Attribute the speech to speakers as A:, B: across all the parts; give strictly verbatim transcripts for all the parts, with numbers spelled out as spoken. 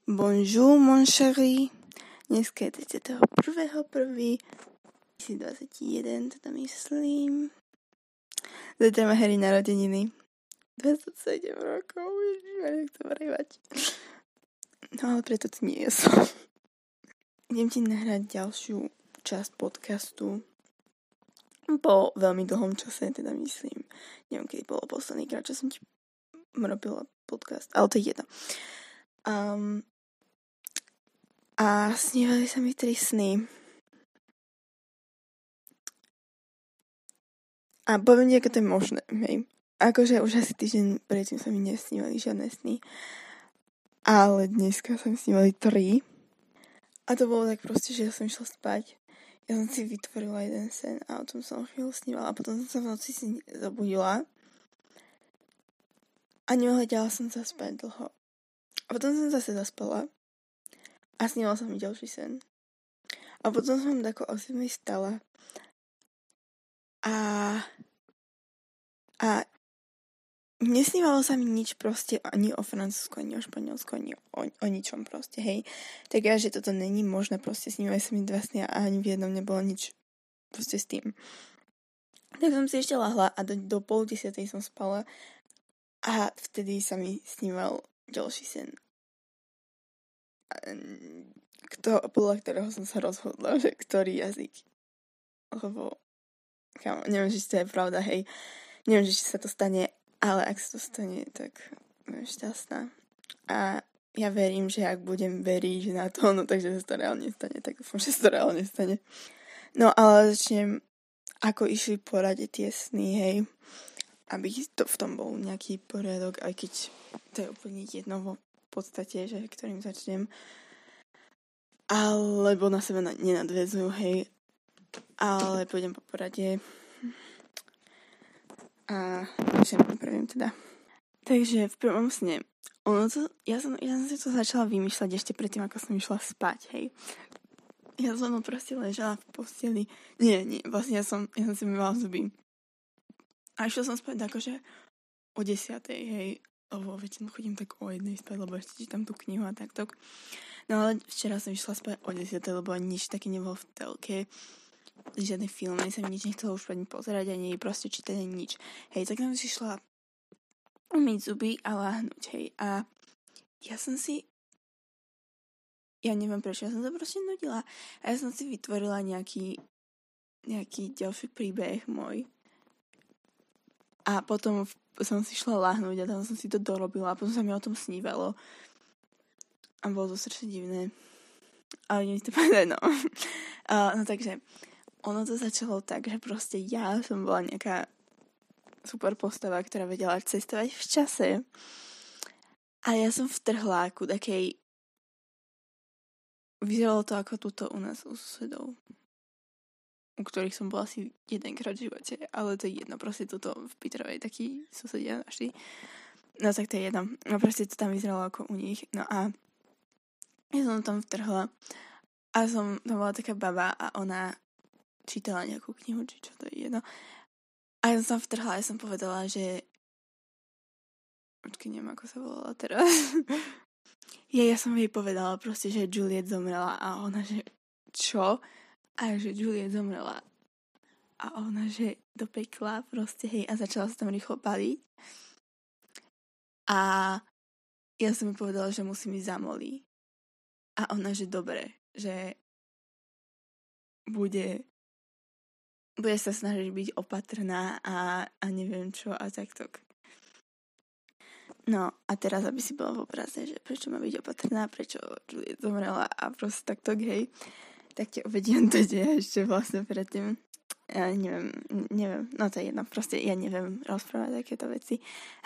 A: Bonjour, mon chéri. Dneska je tridsiateho prvého prvého dvetisícdvadsaťjeden, teda myslím. Zajtra má Harry narodeniny. dvadsaťsedem rokov, ježišmar, nechcem rejvať. No ale preto tu nie som. Idem ti nahrať ďalšiu časť podcastu. Po veľmi dlhom čase, teda myslím. Neviem, kedy bolo posledný krát, čo som ti robila podcast, ale to je jedno. Um, a snívali sa mi tri sny. A poviem ti, ako to je možné, hej. Akože už asi týždeň predtým sa mi nesnívali žiadne sny. Ale dneska sa mi snívali tri. A to bolo tak proste, že ja som išla spať. Ja som si vytvorila jeden sen a o tom som chvíľu snívala. A potom som sa v noci si zabudila. A neohľadala som sa spať dlho. A potom som zase zaspala. A snívala sa mi ďalší sen. A potom som tako o siedmej stala. A... A... Nesnívalo sa mi nič proste ani o Francúzsku, ani o Španielsku, ani o, o ničom proste, hej. Tak ja, že toto není možné, proste snívali sa mi dva sny a ani v jednom nebolo nič proste s tým. Tak som si ešte lahla a do, do pol desiatej som spala a vtedy sa mi sníval ďalší sen. Kto, podľa ktorého som sa rozhodla, že ktorý jazyk. Lebo, kámo, neviem, že to je pravda, hej. Neviem, že či sa to stane, ale ak sa to stane, tak budem šťastná. A ja verím, že ak budem veriť na to, no takže sa to reálne stane, tak dúfam, že sa to reálne stane. No ale začnem, ako išli po rade tie sny, hej. Aby to v tom bol nejaký poriadok, aj keď to je úplne jedno vo podstate, že ktorým začnem. Alebo na seba nenadväzujú, hej. Ale pôjdem po porade. A začnem prvým teda. Takže v prvom sne, ono to, ja som, ja som si to začala vymýšľať ešte predtým, ako som išla spať, hej. Ja som proste ležala v posteli. Nie, nie, vlastne ja som, ja som si myvala zuby. A išla som spať akože o desiatej, hej. Lebo väčšinou chodím tak o jednej spať, lebo ešte čítam tú knihu a takto. No ale včera som išla spať o desiatej, lebo nič také nebolo v telke. Žiadny film, ani sa mi nič nechcelo už ani pozerať, ani proste čítať, ani nič. Hej, tak som si šla umyť zuby a láhnuť, hej. A ja som si... Ja neviem prečo, ja som sa proste nudila. A ja som si vytvorila nejaký nejaký ďalší príbeh môj. A potom som si šla láhnuť a tam som si to dorobila a potom sa mi o tom snívalo. A bolo to strašne divné. Ale neviem to povedať, no. Uh, no takže, ono to začalo tak, že proste ja som bola nejaká super postava, ktorá vedela cestovať v čase. A ja som vtrhla ku takej... Vyzeralo to ako tuto u nás u susedov, u ktorých som bola asi jedenkrát v živote, ale to je jedno, proste toto v Pitrovej takí susedia našli. No tak to je jedno. No proste to tam vyzeralo ako u nich. No a ja som tam vtrhla a som, tam bola taká baba a ona čítala nejakú knihu, či čo, to je jedno. A ja som tam vtrhla a ja som povedala, že počkej, neviem, ako sa volala teraz. ja, ja som jej povedala proste, že Juliet zomrela a ona, že čo? A že Juliet zomrela. A ona, že do pekla proste, hej, a začala sa tam rýchlo paliť. A ja som mi povedala, že musím ísť za Molly. A ona, že dobre, že bude bude sa snažiť byť opatrná a, a neviem čo a takto. No a teraz, aby si bola v obraze, že prečo má byť opatrná, prečo Juliet zomrela a proste takto, hej, tak ti uvediem to, že ešte vlastne predtým. Ja neviem, neviem, no to je jedno, proste ja neviem rozprávať takéto veci.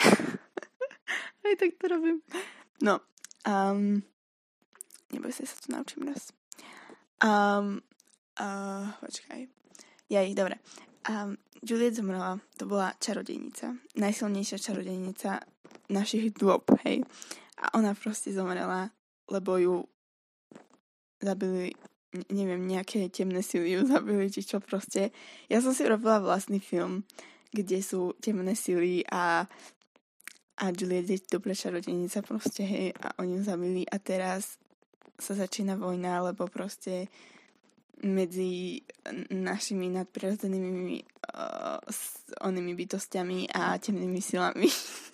A: Aj tak to robím. No, um, neboj sa, sa to naučím raz. Um, uh, počkaj. Jej, dobre. Um, Juliet zomrela, to bola čarodejnica. Najsilnejšia čarodejnica našich dôb, hej. A ona proste zomrela, lebo ju zabili, neviem, nejaké temné sily ju zabili, či čo proste. Ja som si robila vlastný film, kde sú temné sily a a Juliet je dobrá čarodejnica proste, hej, a oni ju zabili a teraz sa začína vojna, lebo proste medzi našimi nadprirodzenými uh, s onými bytostiami a temnými silami.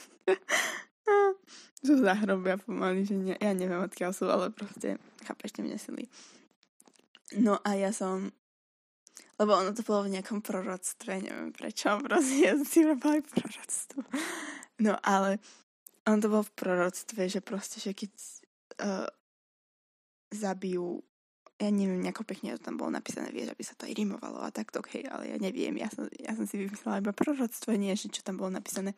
A: Sú zahrobia pomaly, že ne, ja neviem odkiaľ sú, ale proste chápeš, temné sily. No a ja som, lebo ono to bolo v nejakom proroctve, neviem prečo, proste ja si robila proroctvo. No ale ono to bolo v proroctve, že proste, že keď uh, zabijú, ja neviem, nejako pekne to tam bolo napísané, vieš, aby sa to aj rimovalo a takto, hej, ale ja neviem, ja som, ja som si vymyslela iba proroctvo, nie, že čo tam bolo napísané.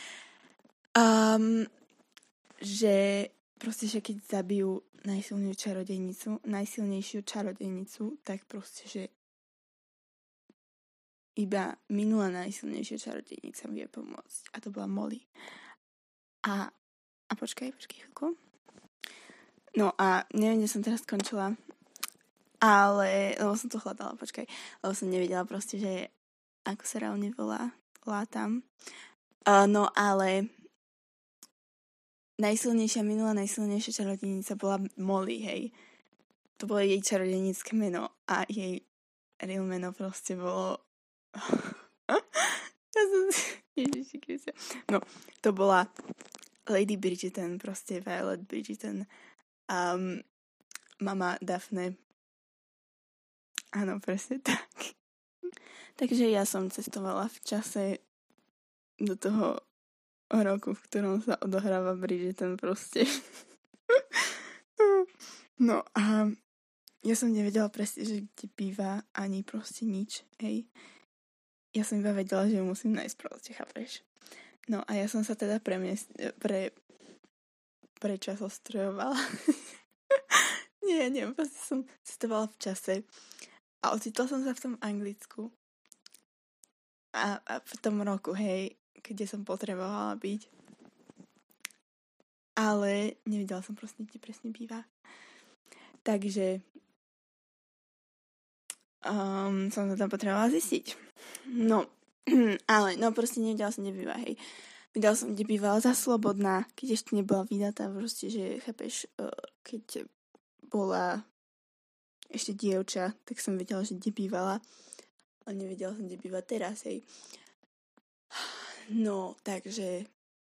A: Um, že proste, že keď zabijú najsilnejšiu čarodejnicu, najsilnejšiu čarodejnicu, tak proste, že iba minulá najsilnejšia čarodejnica vie pomôcť. A to bola Molly. A, a počkaj, počkaj chvíľku. No a neviem, kde som teraz skončila, ale, lebo som to hľadala, počkaj, lebo som nevedela proste, že ako sa reálne volá, látam. Uh, no ale najsilnejšia, minulá najsilnejšia čarodejnica bola Molly, hej. To bolo jej čarodejnícke meno a jej real meno proste bolo ja som Ježiši Kriste. No, to bola Lady Bridgerton, proste Violet Bridgerton. Um, mama Daphne. Áno, presne tak. Takže ja som cestovala v čase do toho roku, v ktorom sa odohráva Bridgerton proste. No a ja som nevedela presne, že kde býva ani proste nič, hej. Ja som iba vedela, že ju musím nájsť proste, chápeš? No a ja som sa teda premiest... pre... prečasostrojovala. Nie, nie, proste som cestovala v čase a ocitla som sa v tom Anglicku. A, a v tom roku, hej, kde som potrebovala byť. Ale nevedela som proste, kde presne býva. Takže um, som to tam potrebovala zistiť. No, ale no proste nevedela som, kde býva, hej. Vedela som, kde bývala za Slobodná, keď ešte nebola vydatá, proste, že chápeš, keď bola ešte dievča, tak som vedela, že kde bývala, ale nevedela som, kde býva teraz, hej. No, takže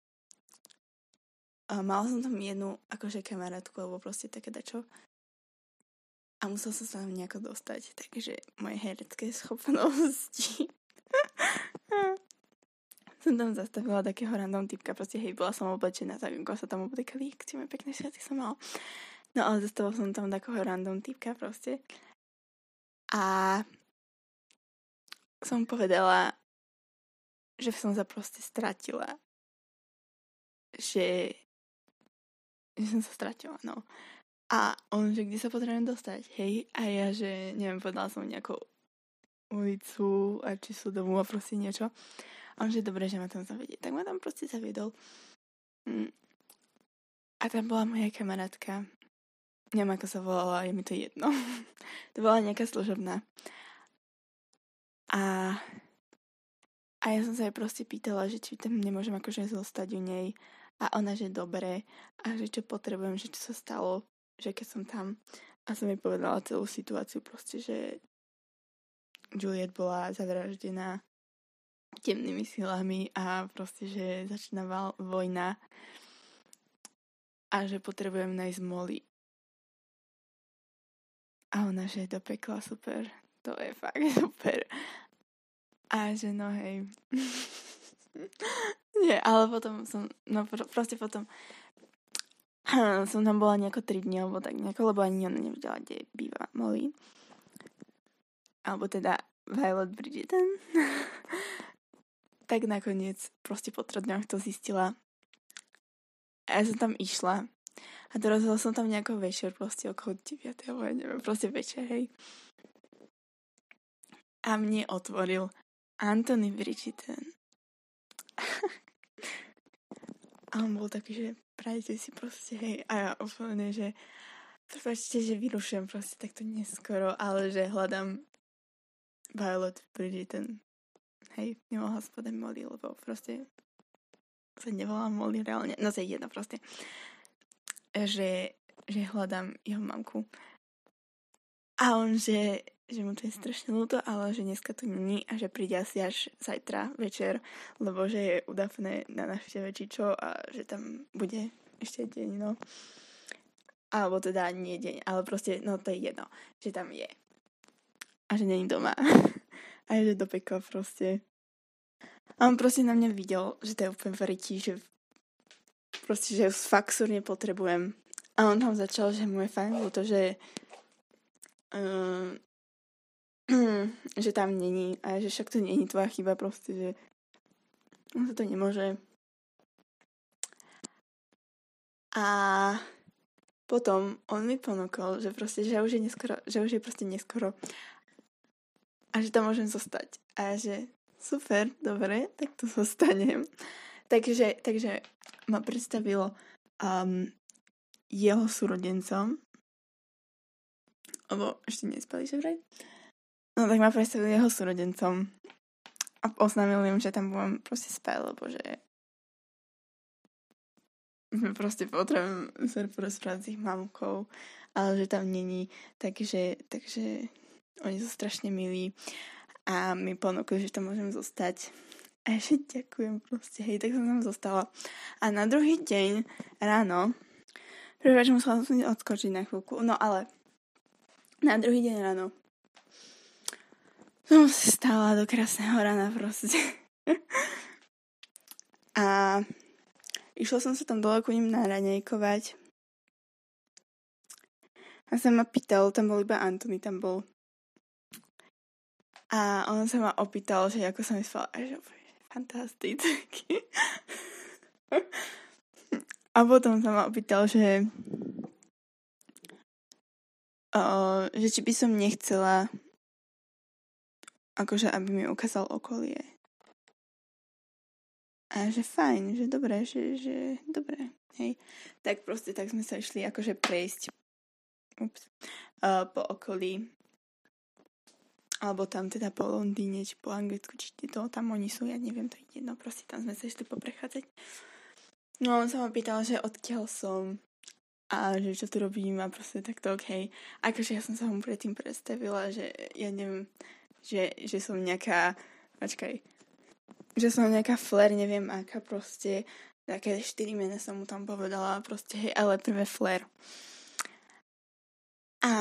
A: a mala som tam jednu akože kamarátku, alebo proste také dačo. A musela som sa tam nejako dostať, takže moje herecké schopnosti. Som tam zastavila takého random typka, proste hej, bola som oblečená, tak ako sa tam obliekali, keď moje pekné šaty som mala. No ale zastavila som tam takého random typka proste. A som povedala, že som sa proste stratila. Že, že som sa stratila, no. A on, že kde sa potrebujem dostať, hej? A ja, že neviem, povedala som nejakú ulicu a či sú domu a proste niečo. A on, že dobre, že ma tam zavedie. Tak ma tam proste zaviedol. Mm. A tam bola moja kamarátka. Neviem, ako sa volala, je mi to jedno. To bola nejaká služobná. A, a ja som sa jej proste pýtala, že či tam nemôžem akože zostať u nej. A ona, že dobre. A že čo potrebujem, že čo sa stalo, že keď som tam. A som jej povedala celú situáciu proste, že Juliet bola zavraždená temnými silami a proste, že začína vojna a že potrebujem nájsť Molly. A ona, že do pekla, super. To je fakt super. A že no hej. Nie, ale potom som, no proste potom som tam bola nejako tri dni, alebo tak nejako, lebo ani ona nevedela, kde býva Molly. Alebo teda Violet Bridgerton. Tak nakoniec proste po troch dňoch to zistila. A ja som tam išla. A dorazila som tam nejako večer, proste okolo deviatej, alebo ja neviem, proste večer, hej. A mne otvoril Anthony Bridgerton. A on bol taký, že prajte si proste, hej. A ja úplne, že prepáčte, že vyrušujem proste takto neskoro, ale že hľadám Violet Bridgerton. Hej, nemohla spodať Molly, lebo proste sa nevolá Molly reálne, no to je jedno proste, že, že hľadám jeho mamku. A on, že, že mu to je strašne ľúto, ale že dneska to není a že príde asi až zajtra večer, lebo že je u Daphne na návšteve či čo a že tam bude ešte deň, no. Alebo teda nie deň, ale proste, no to je jedno, že tam je. A že není doma. A je, že do pekla proste. A on proste na mňa videl, že to je úplne verití, že proste, že fakt súrne potrebujem. A on tam začal, že mu je fajn ľúto, že uh, že tam není a že však to není tvoja chyba proste, že on sa to nemôže. A potom on mi ponúkol, že proste, že už je neskoro, že už je proste neskoro a že tam môžem zostať. A že super, dobre, tak tu zostanem. Takže, takže ma predstavilo um, jeho súrodencom, lebo ešte nespali, že vraj? No tak ma predstavil jeho súrodencom a oznámil im, že tam budem proste spať, lebo že proste potrebujem sa porozprávať s ich mamkou, ale že tam není, takže, takže oni sú strašne milí a mi ponúkli, že tam môžem zostať. A ešte ďakujem proste, hej, tak som tam zostala. A na druhý deň ráno, prvé, že musela som odskočiť na chvíľku, no ale na druhý deň ráno som sa stála do krásneho rána proste. A išla som sa tam dole ku ním naraňajkovať. A sa ma pýtal, tam bol iba Antony, tam bol. A on sa ma opýtal, že ako som myslela, že fantasticky. A potom sa ma opýtal, že uh, že či by som nechcela akože, aby mi ukázal okolie. A že fajn, že dobré, že, že dobré, hej. Tak proste, tak sme sa išli akože prejsť ups, uh, po okolí. Alebo tam teda po Londýne, či po Anglicku, či to tam oni sú, ja neviem, to je jedno, proste tam sme sa išli poprechádzať. No on sa ma pýtal, že odkiaľ som a že čo tu robím a proste takto okej. Okay. Akože ja som sa mu predtým predstavila, že ja neviem, že, že som nejaká, počkaj, že som nejaká Flair, neviem aká proste, také štyri mena som mu tam povedala, proste hej, ale prvé Flair. A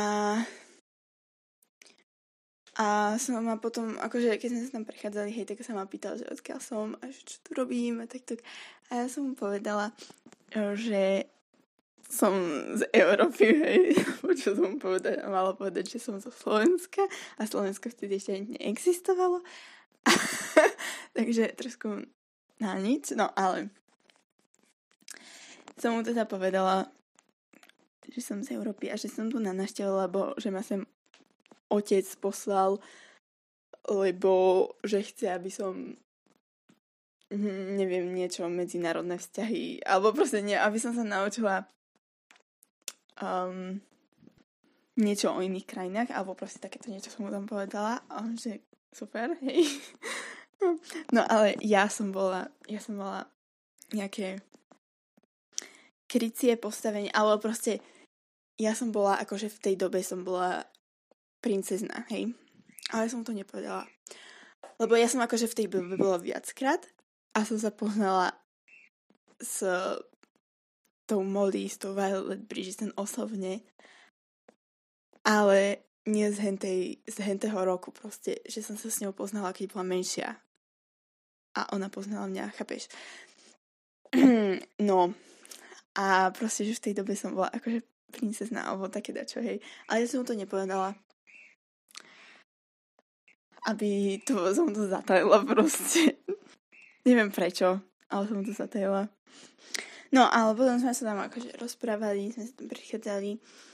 A: a som ma potom, akože keď sme sa tam prechádzali, hej, tak sa ma pýtal, že odkiaľ som a že čo tu robím a takto. A ja som mu povedala, že som z Európy, hej, čo som mu povedala, mala povedať, že som zo Slovenska a Slovensko vtedy ešte neexistovalo. Takže trošku na nič, no ale som mu teda povedala, že som z Európy a že som tu na návšteve, lebo že ma sem otec poslal, lebo že chce, aby som neviem, niečo medzinárodné vzťahy, alebo proste nie, aby som sa naučila um, niečo o iných krajinách, alebo proste takéto niečo som mu tam povedala a on, že super, hej. No ale ja som bola, ja som bola nejaké krycie postavenie, alebo proste ja som bola, akože v tej dobe som bola princezna, hej. Ale som to nepovedala. Lebo ja som akože v tej dobe bola viackrát a som sa poznala s tou Molly, s tou Violet Bridgerton osobne. Ale nie z, hentej, z hentého roku proste, že som sa s ňou poznala, keď bola menšia. A ona poznala mňa, chápeš? No. A proste, že v tej dobe som bola akože princezna, alebo také dačo, hej. Ale ja som mu to nepovedala. Aby to som to zatajila proste. Neviem prečo, ale som to zatajila. No, ale potom sme sa tam akože rozprávali, sme sa tam prichádzali.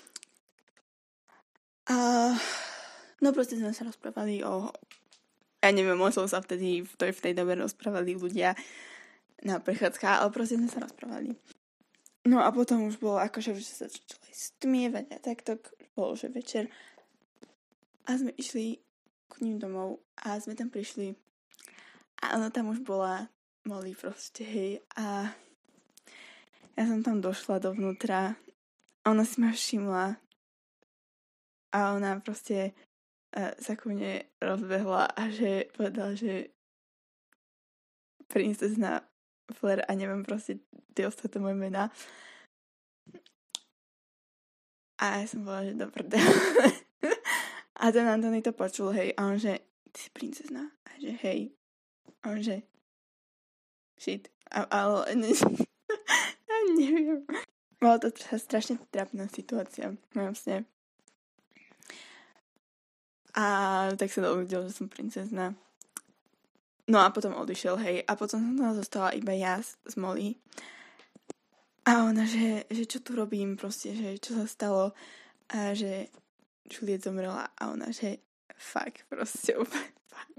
A: A no proste sme sa rozprávali o, ja neviem, o som sa vtedy v tej, v tej dobe rozprávali ľudia na prechádzkách, ale proste sme sa rozprávali. No a potom už bolo akože, že sa začali stmievať a takto, bolo že večer. A sme išli k ním domov a sme tam prišli a ona tam už bola Molly proste, hej. A ja som tam došla dovnútra a ona si ma všimla a ona proste uh, sa ku mne rozbehla a že povedala, že princezna Flair a neviem proste tie ostatné moje mená. A ja som povedala, že do prdele. A ten Antony to počul, hej, a on že, ty si princezna? A že hej. A on že, shit. A, ale, ne, ja neviem. Bola to strašne trápna situácia, vlastne. A tak sa dovedel, že som princezna. No a potom odišiel, hej. A potom som tam zostala iba ja s, s Molly. A ona, že, že čo tu robím, proste, že čo sa stalo. A že Juliet zomrela. A ona, že fuck, proste úplne fuck.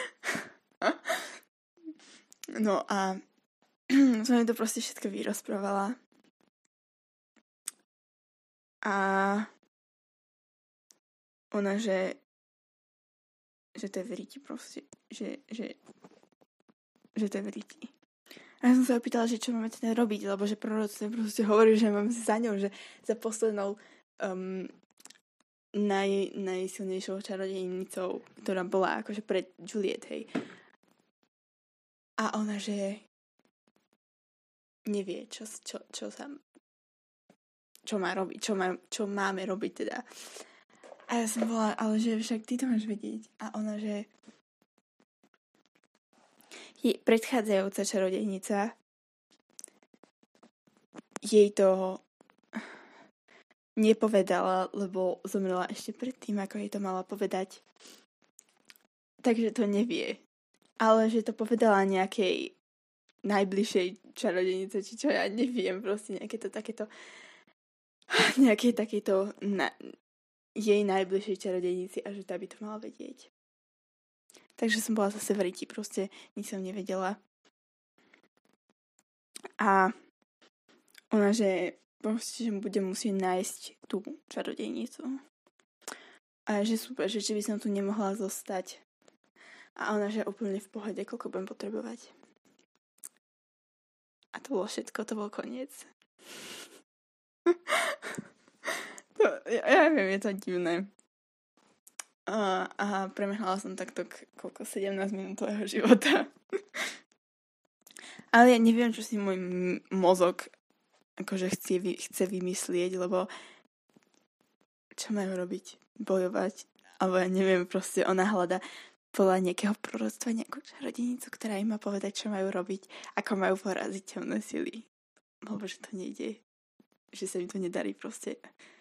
A: No a som mi to proste všetko vyrozprávala. A ona, že že to je veriti proste. Že, že, že to je veriti. A ja som sa opýtala, že čo máme teda robiť, lebo že proroci proste hovorí, že máme za ňou, že za poslednou um, naj, najsilnejšou čarodejnicou, ktorá bola akože pred Juliet, hej. A ona, že nevie, čo, čo, čo sa čo má robiť, čo, má, čo máme robiť teda. A ja som bola, ale že však ty to máš vedieť. A ona, že je predchádzajúca čarodejnica, jej to nepovedala, lebo zomrela ešte predtým, ako jej to mala povedať. Takže to nevie. Ale že to povedala nejakej najbližšej čarodejnice, či čo, ja neviem, proste nejaké to takéto nejakej takejto na, jej najbližšej čarodejnici a že tá by to mala vedieť. Takže som bola zase v riti, proste nič som nevedela. A ona, že proste, že budem musieť nájsť tú čarodejnicu. A že super, že či by som tu nemohla zostať. A ona, že úplne v pohode, koľko budem potrebovať. A to bolo všetko, to bol koniec. to, ja, ja viem, je to divné. A, a premehla som takto k, koľko, sedemnásť minútového života. Ale ja neviem, čo si môj m- mozog akože chce, vy, chce vymyslieť, lebo čo majú robiť? Bojovať? Alebo ja neviem, proste ona hľada podľa nejakého proroctva nejakú čarodejnicu, ktorá im má povedať, čo majú robiť, ako majú poraziť temné sily. Lebo že to nejde. Že sa im to nedarí proste.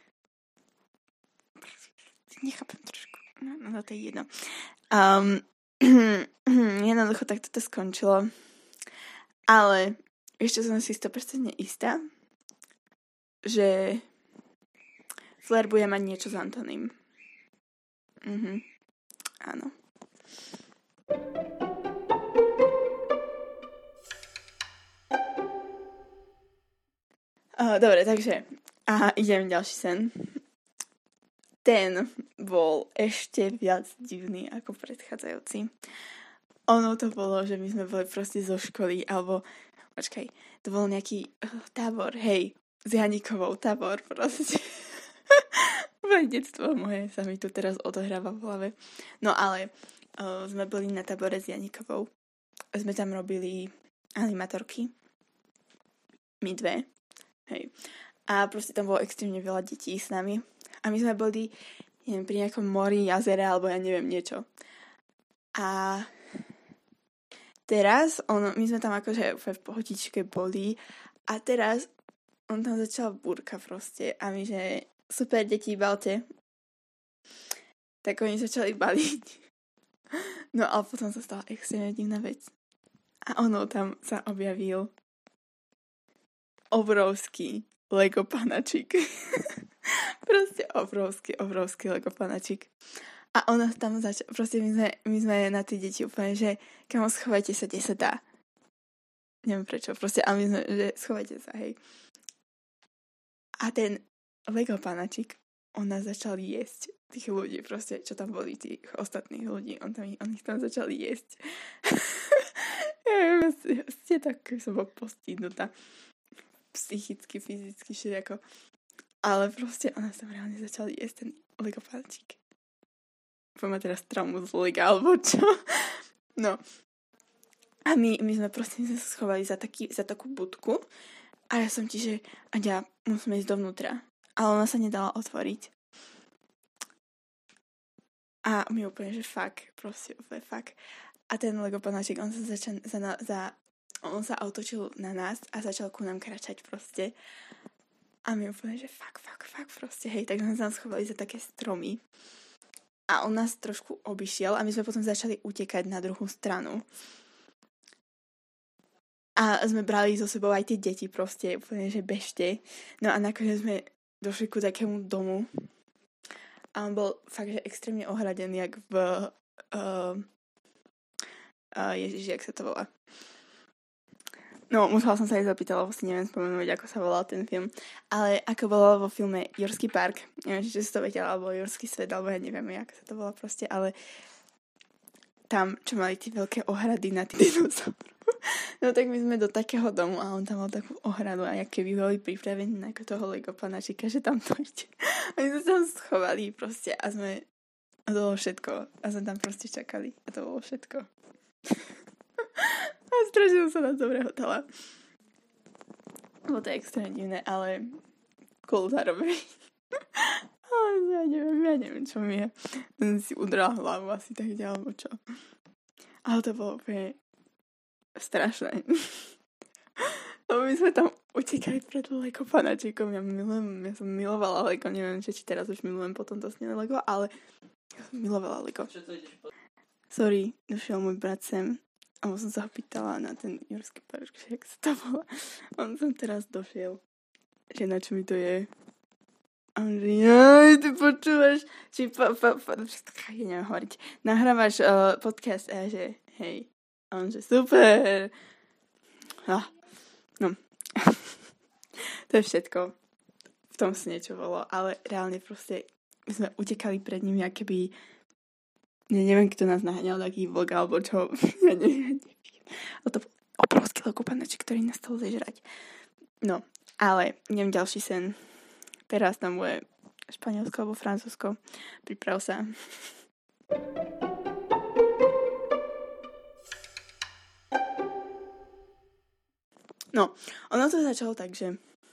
A: Nechápem trošku. No, no to je jedno. Um, jednoducho tak toto skončilo. Ale ešte som si sto percent istá, že Flair bude mať niečo s Antonym. Mhm. Áno. Uh, dobre, takže aha, idem ďalší sen. Ten bol ešte viac divný ako predchádzajúci. Ono to bolo, že my sme boli proste zo školy, alebo počkaj, to bol nejaký uh, tábor, hej, s Janikovou tábor proste. Moje detstvo moje sa mi tu teraz odohráva v hlave. No ale uh, sme boli na tábore s Janikovou. Sme tam robili animatorky. My dve. Hej. A proste tam bolo extrémne veľa detí s nami. A my sme boli, neviem, pri nejakom mori, jazere, alebo ja neviem, niečo. A teraz, on, my sme tam akože v pohodičke boli. A teraz on tam začal búrka proste. A my, že super, deti, balte. Tak oni začali baliť. No a potom sa stala extrémne divná vec. A ono tam sa objavil obrovský Lego panačik. Proste obrovský, obrovský Lego panačik. A ona tam začala, proste my sme, my sme na tie deti úplne, že kamo, schovajte sa, kde sa dá. Neviem prečo, proste, ale my sme, že schovajte sa, hej. A ten Lego panačik, on nás začal jesť. Tých ľudí proste, čo tam boli, tých ostatných ľudí, on, tam, on ich tam začal jesť. neviem, ste tak, keď som bol postihnutá. Psychicky, fyzicky, všetko. Ale proste ona sa reálne začala jesť ten Lego palčík. Poďme teraz traumu z Lega, alebo čo? No. A my, my sme proste my sme sa schovali za, taký, za takú budku. A ja som ti, že Aďa, musíme ísť dovnútra. Ale ona sa nedala otvoriť. A my úplne, že fuck, proste úplne fuck. A ten Lego panáčik, on sa začal za, za, on sa otočil na nás a začal ku nám kračať proste. A my úplne, že fuck, fuck, fuck, proste, hej, tak sme sa schovali za také stromy. A on nás trošku obišiel a my sme potom začali utekať na druhú stranu. A sme brali so sebou aj tie deti proste, úplne, že bežte. No a nakoniec sme došli ku takému domu. A on bol fakt, že extrémne ohradený, jak v... Uh, uh, Ježiš, jak sa to volá? No, musela som sa aj zapýtať, lebo si neviem spomenúť, ako sa volal ten film. Ale ako bolo vo filme Jurský park, neviem, či si to vedela, alebo Jurský svet, alebo ja neviem, ako sa to volá proste, ale tam, čo mali tie veľké ohrady na tých dinosaurov. No tak my sme do takého domu a on tam mal takú ohradu a aké by boli pripravení na toho Lego panáčika, že tam to ide. A my sme tam schovali proste a sme... A to bolo všetko. A sme tam proste čakali. A to bolo všetko. A strašne som sa na to prehotala. Bolo to extrémne divné, ale cool zároveň. Ale ja neviem, ja neviem, čo mi je. Ten si udrel hlavu asi tak ďalej, alebo čo. Ale to bolo úplne strašné. Lebo my sme tam utekali pred Lego panáčikom. Ja milujem, ja som milovala Lego. Neviem, či teraz už milujem potom to snené Lego, ale ja som milovala Lego. Sorry, došiel môj brat sem a som sa ho pýtala na ten Jurský park, že jak sa to volá. On som teraz došiel, že na čo mi to je. A on že, jaj, ty počúvaš, či pa, pa, pa, ja neviem hovoriť, nahrávaš uh, podcast a ja, že hej. A on že super. Ah, no. To je všetko. V tom si niečo bolo, ale reálne proste my sme utekali pred nimi, aké by ja neviem, kto nás naháňal taký vlk, alebo čo. Ja neviem. Ale to bol obrovský Lego panáčik, ktorý nás chcel zežrať. No, ale idem ďalší sen. Teraz tam bude Španielsko alebo Francúzsko. Priprav sa. No, ono to začalo tak, že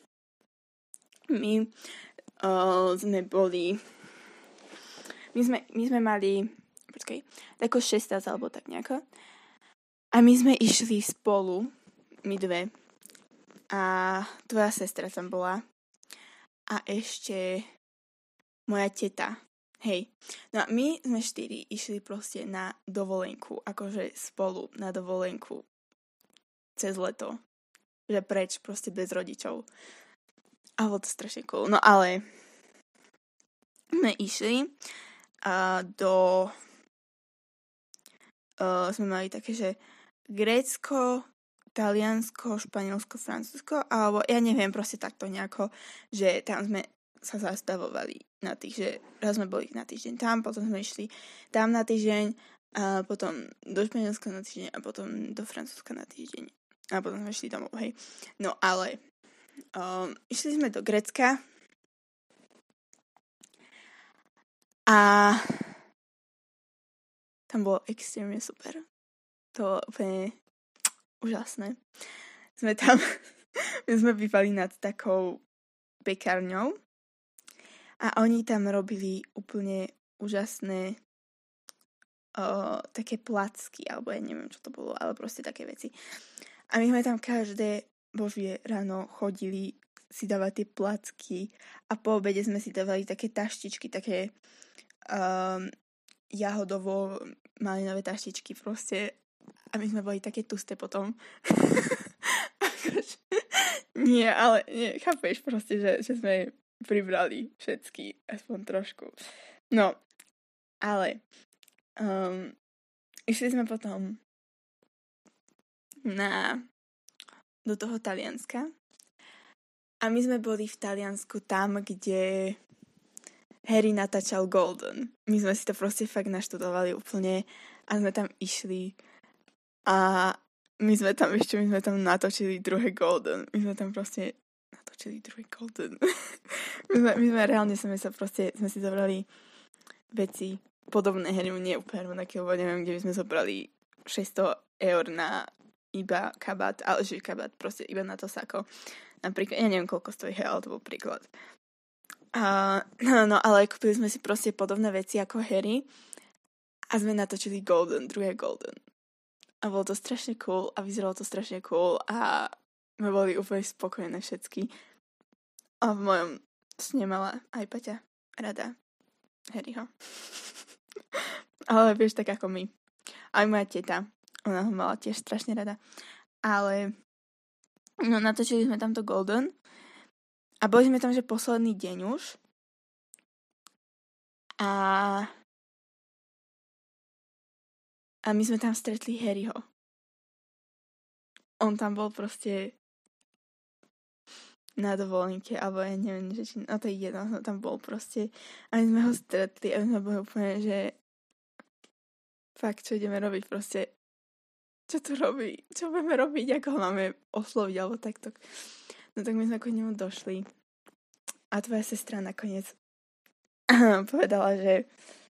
A: my uh, sme boli my sme, my sme mali počkaj, tako šestnásť alebo tak nejako a my sme išli spolu my dve a tvoja sestra tam bola a ešte moja teta, hej. No a my sme štyri išli proste na dovolenku, akože spolu na dovolenku cez leto. Že preč, proste bez rodičov. A bolo to strašne cool. No ale sme išli a do uh, sme mali také, že Grécko, Taliansko, Španielsko, Francúzsko, alebo ja neviem, proste takto nejako, že tam sme sa zastavovali na tých, že raz sme boli na týždeň tam, potom sme išli tam na týždeň, a potom do Španielska na týždeň a potom do Francúzska na týždeň. A potom sme išli domov, hej. No ale um, išli sme do Grécka a tam bolo extrémne super. To bolo úplne úžasné. Sme tam, my sme bývali nad takou pekárňou a oni tam robili úplne úžasné uh, také placky, alebo ja neviem, čo to bolo, ale proste také veci. A my sme tam každé božie ráno chodili si dávať tie placky a po obede sme si dávali také taštičky, také um, jahodovo malinové taštičky proste a my sme boli také tusté potom. Nie, ale nie, chápeš proste, že, že sme pribrali všetky, aspoň trošku. No, ale um, išli sme potom na, do toho Talianska a my sme boli v Taliansku tam, kde Harry natáčal Golden. My sme si to proste fakt naštudovali úplne a sme tam išli a my sme tam ešte, my sme tam natočili druhé Golden. My sme tam proste natočili druhý Golden. my, sme, my sme reálne sme sa proste, sme si zobrali veci podobné hry, nie úplne rovnaké, lebo neviem, kde by sme zobrali šesťsto eur na iba kabát, ale že kabát proste iba na to sako. Napríklad, ja neviem, koľko stojí, ale to bol príklad. A, no, no, ale kúpili sme si proste podobné veci ako Harry a sme natočili Golden, druhé Golden. A bolo to strašne cool a vyzeralo to strašne cool a my boli úplne spokojné všetky. A v mojom sne mala aj Paťa rada Harryho. Ale vieš, tak ako my. Aj moja teta, ona ho mala tiež strašne rada. Ale no, natočili sme tamto Golden a boli sme tam, že posledný deň už. A A my sme tam stretli Harryho. On tam bol proste na dovolenke, alebo ja neviem, že či, no to je jedno, no tam bol proste. A my sme ho stretli a my sme boli úplne, že fakt, čo ideme robiť proste. Čo tu robí? Čo budeme robiť? Ako ho máme osloviť, alebo takto. No tak my sme k nemu došli. A tvoja sestra nakoniec povedala, že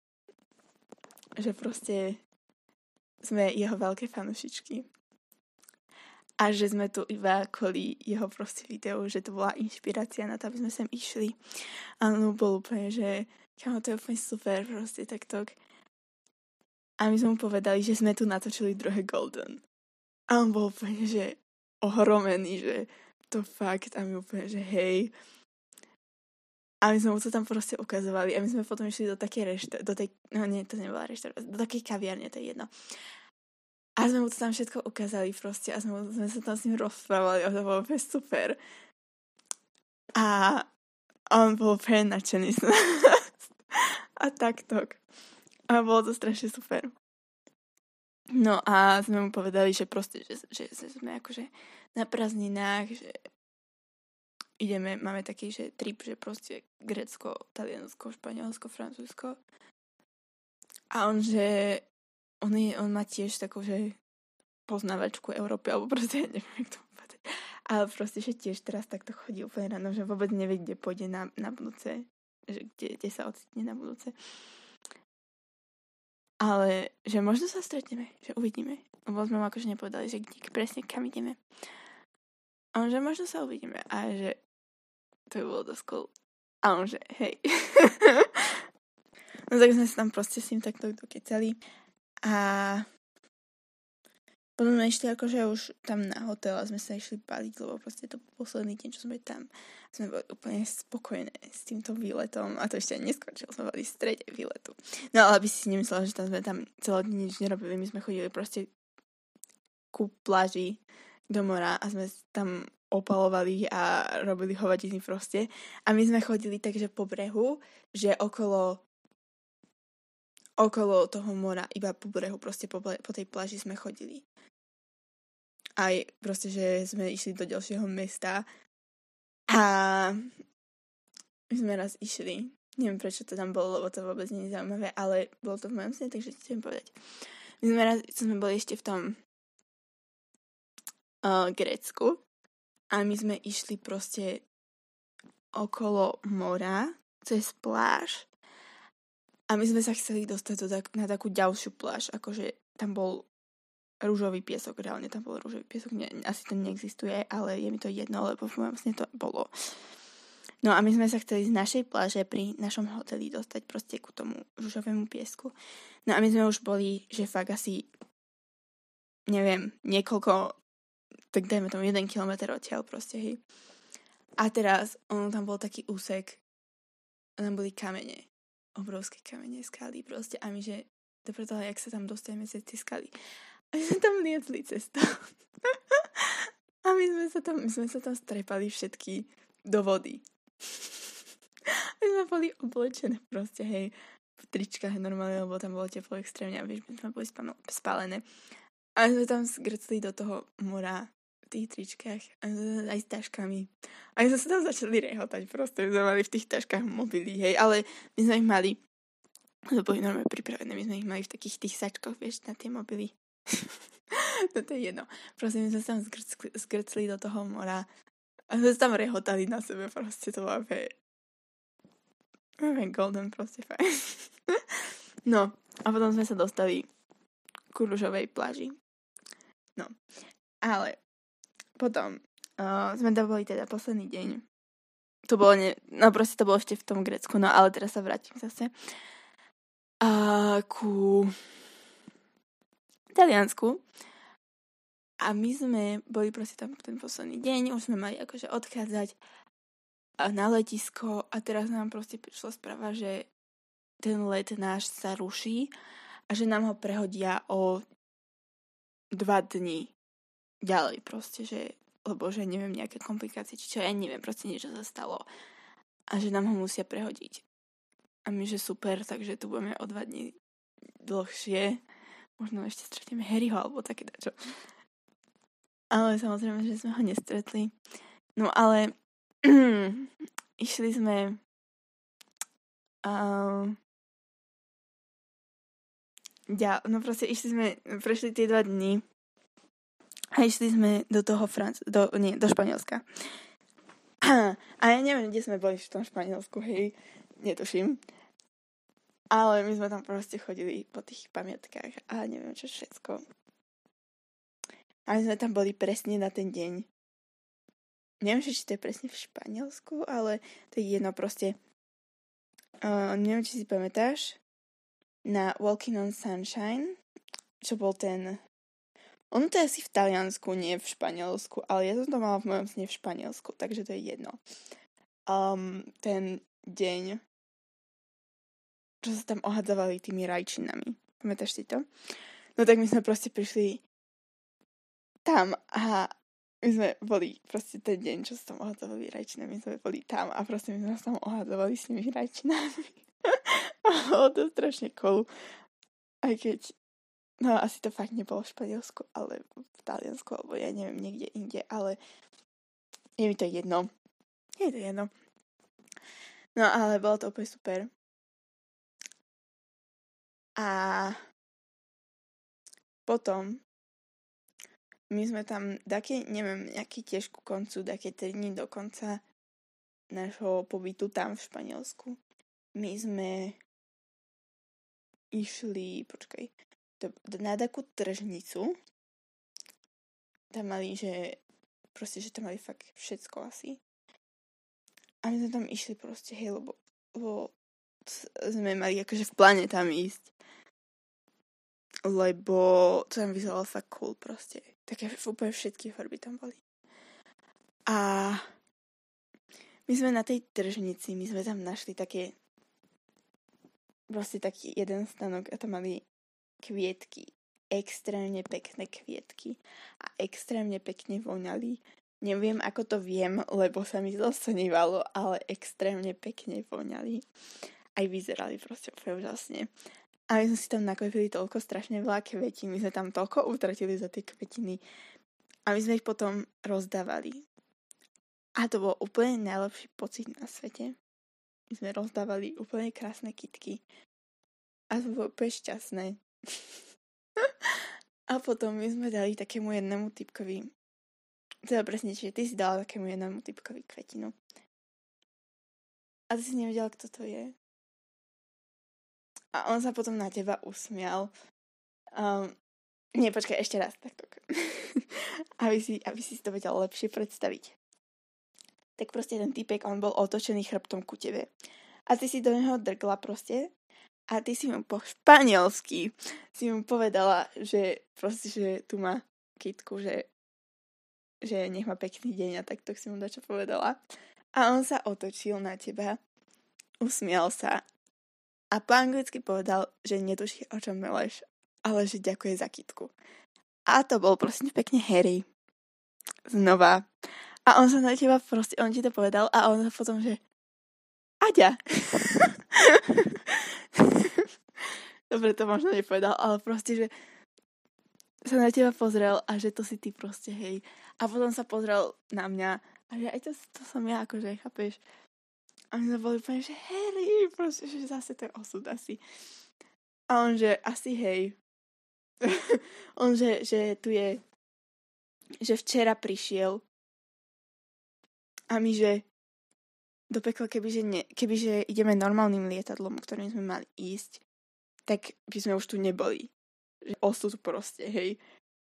A: že proste sme jeho veľké fanušičky. A že sme tu iba kvôli jeho proste videu, že to bola inšpirácia na to, aby sme sem išli. A on bol úplne, že kámo, to je úplne super, proste takto. A my sme mu povedali, že sme tu natočili druhé Golden. A on bol úplne, že ohromený, že to fakt. A my úplne, že hej. A my sme mu to tam proste ukazovali. A my sme potom išli do takej rešte, do tej, no nie, to nebola reštaurácia, do takej kaviarne, to je jedno. A sme mu to tam všetko ukázali proste a sme, sme sa tam s ním rozprávali a to bolo úplne super. A on bol úplne nadšený z nás. A takto. A bolo to strašne super. No a sme mu povedali, že proste, že, že, že sme akože na prázdninách, že ideme, máme taký, že trip, že proste Grécko, Taliansko, Španielsko, Francúzsko. A on, že on, je, on má tiež takú, že poznávačku Európy, alebo proste, neviem, jak to povedať. Ale proste, že tiež teraz takto chodí úplne ráno, že vôbec nevie, kde pôjde na, na budúce, že kde, kde sa ocitne na budúce. Ale, že možno sa stretneme, že uvidíme. Lebo sme mu akože nepovedali, že kde presne kam ideme. A on, že možno sa uvidíme. A že to by bolo dosť cool. A on, že hej. No tak sme sa tam proste s ním takto dokecali. A potom sme išli akože už tam na hotel a sme sa išli paliť, lebo proste to posledný deň, čo sme tam, sme boli úplne spokojné s týmto výletom a to ešte ani neskončilo, sme boli v strede výletu. No ale aby si nemyslela, že tam sme tam celé dní nič nerobili, my sme chodili proste ku pláži do mora a sme tam opalovali a robili hovadiny proste. A my sme chodili takže po brehu, že okolo okolo toho mora, iba po brehu, proste po, po tej pláži sme chodili. Aj proste, že sme išli do ďalšieho mesta a my sme raz išli. Neviem, prečo to tam bolo, lebo to vôbec nie je zaujímavé, ale bolo to v mojom sne, takže chcem povedať. My sme raz, sme boli ešte v tom uh, Grécku a my sme išli proste okolo mora, cez pláž. A my sme sa chceli dostať do tak, na takú ďalšiu pláž, akože tam bol rúžový piesok, reálne tam bol rúžový piesok, ne, asi to neexistuje, ale je mi to jedno, lebo v mojom sne to bolo. No a my sme sa chceli z našej pláže pri našom hoteli dostať proste ku tomu rúžovému piesku. No a my sme už boli, že fakt asi, neviem, niekoľko, tak dajme tomu jeden kilometr odtiaľ proste, hej. A teraz, on tam bol taký úsek, a tam boli kamene. Obrovské kamene, skaly proste a my, že dobre toho, jak sa tam dostaneme cez tie skaly. A my sme tam liezli cez to. A my sme sa tam, my sme sa tam strepali všetky do vody. My sme boli oblečené proste, hej, v tričkách normálne, lebo tam bolo teplo extrémne a vieš, my sme boli spálené. A my sme tam zgrcli do toho mora v tých tričkách aj s taškami. A my sme sa tam začali rehotať proste, my sme mali v tých taškách mobily, hej, ale my sme ich mali, to boli normálne pripravené, my sme ich mali v takých tých sačkoch, vieš, na tie mobily. No to je jedno. Proste my sme sa tam zgrcli, zgrcli do toho mora a sme sa tam rehotali na sebe, proste to bolo úplne úplne golden, proste fajn. No, a potom sme sa dostali ku ružovej pláži. No, ale potom uh, sme tam boli teda posledný deň. To bolo, ne, no proste to bolo ešte v tom Grécku, no ale teraz sa vrátim zase uh, ku Taliansku. A my sme boli proste tam ten posledný deň, už sme mali akože odchádzať na letisko a teraz nám proste prišla správa, že ten let náš sa ruší a že nám ho prehodia o dva dni ďalej proste, že lebo že neviem, nejaké komplikácie, či čo, ja neviem, proste niečo sa stalo a že nám ho musia prehodiť. A my, že super, takže tu budeme o dva dni dlhšie. Možno ešte stretneme Harryho, alebo také dačo. Ale samozrejme, že sme ho nestretli. No ale išli sme uh, ja, no proste išli sme, prešli tie dva dni a išli sme do toho Franc- do, nie, do Španielska. A ja neviem, kde sme boli v tom Španielsku, hej, netuším. Ale my sme tam proste chodili po tých pamiatkách a neviem čo všetko. A my sme tam boli presne na ten deň. Neviem, či to je presne v Španielsku, ale to je jedno proste. Uh, neviem, či si pamätáš na Walking on Sunshine, čo bol ten... Ono to je asi v Taliansku, nie v Španielsku, ale ja som to mala v mojom sne v Španielsku, takže to je jedno. Um, ten deň, čo sa tam ohadzovali tými rajčinami. Pamätáš si to? No tak my sme proste prišli tam a my sme boli proste ten deň, čo sa tam ohadzovali rajčinami, my sme boli tam a proste my sme sa tam ohadzovali s tými rajčinami. Bolo to strašne cool. Aj keď no asi to fakt nebolo v Španielsku, ale v Taliansku, alebo ja neviem, niekde inde, ale je mi to jedno. Je to jedno. No ale bolo to úplne super. A potom my sme tam taký, neviem, nejaký tiež ku koncu, také tri dní do konca nášho pobytu tam v Španielsku. My sme išli, počkaj, na takú tržnicu. Tam mali, že proste, že tam mali fakt všetko asi. A my sme tam išli proste, hej, lebo, lebo sme mali akože v pláne tam ísť. Lebo to tam vyzeralo fakt cool proste. Také úplne všetky farby tam boli. A my sme na tej tržnici, my sme tam našli také proste taký jeden stanok a tam mali kvietky, extrémne pekné kvietky a extrémne pekne voňali. Neviem, ako to viem, lebo sa mi to snívalo, ale extrémne pekne voňali. Aj vyzerali proste úplne úžasne. A my sme si tam nakopili toľko strašne veľa kvetín, my sme tam toľko utratili za tie kvetiny a my sme ich potom rozdávali. A to bol úplne najlepší pocit na svete. My sme rozdávali úplne krásne kytky a to bolo úplne šťastné. A potom my sme dali takému jednému typkovi, teda presne, čiže ty si dala takému jednému typkovi kvetinu. A ty si nevedela, kto to je. A on sa potom na teba usmial. Um, nie, počkaj, ešte raz. Takto. aby, si, aby si to vedel lepšie predstaviť. Tak proste ten typek, on bol otočený chrbtom ku tebe. A ty si do neho drgla proste. A ty si mu po španielsky si mu povedala, že proste, že tu má kytku, že, že nech má pekný deň a takto si mu dačo povedala. A on sa otočil na teba, usmial sa a po anglicky povedal, že netuší, o čom meleš, ale že ďakuje za kytku. A to bol proste pekne Harry. Znova. A on sa na teba proste, on ti to povedal a on sa potom, že Aďa. Dobre, to možno nepovedal, ale proste, že sa na teba pozrel a že to si ty proste, hej. A potom sa pozrel na mňa a že aj to, to som ja, akože, chápeš. A my sme boli úplne, že Harry, proste, že zase to je osud asi. A on, že asi hej. on, že, že tu je, že včera prišiel a my, že do pekla, kebyže, ne, kebyže ideme normálnym lietadlom, ktorým sme mali ísť, tak by sme už tu neboli. Že osud proste, hej.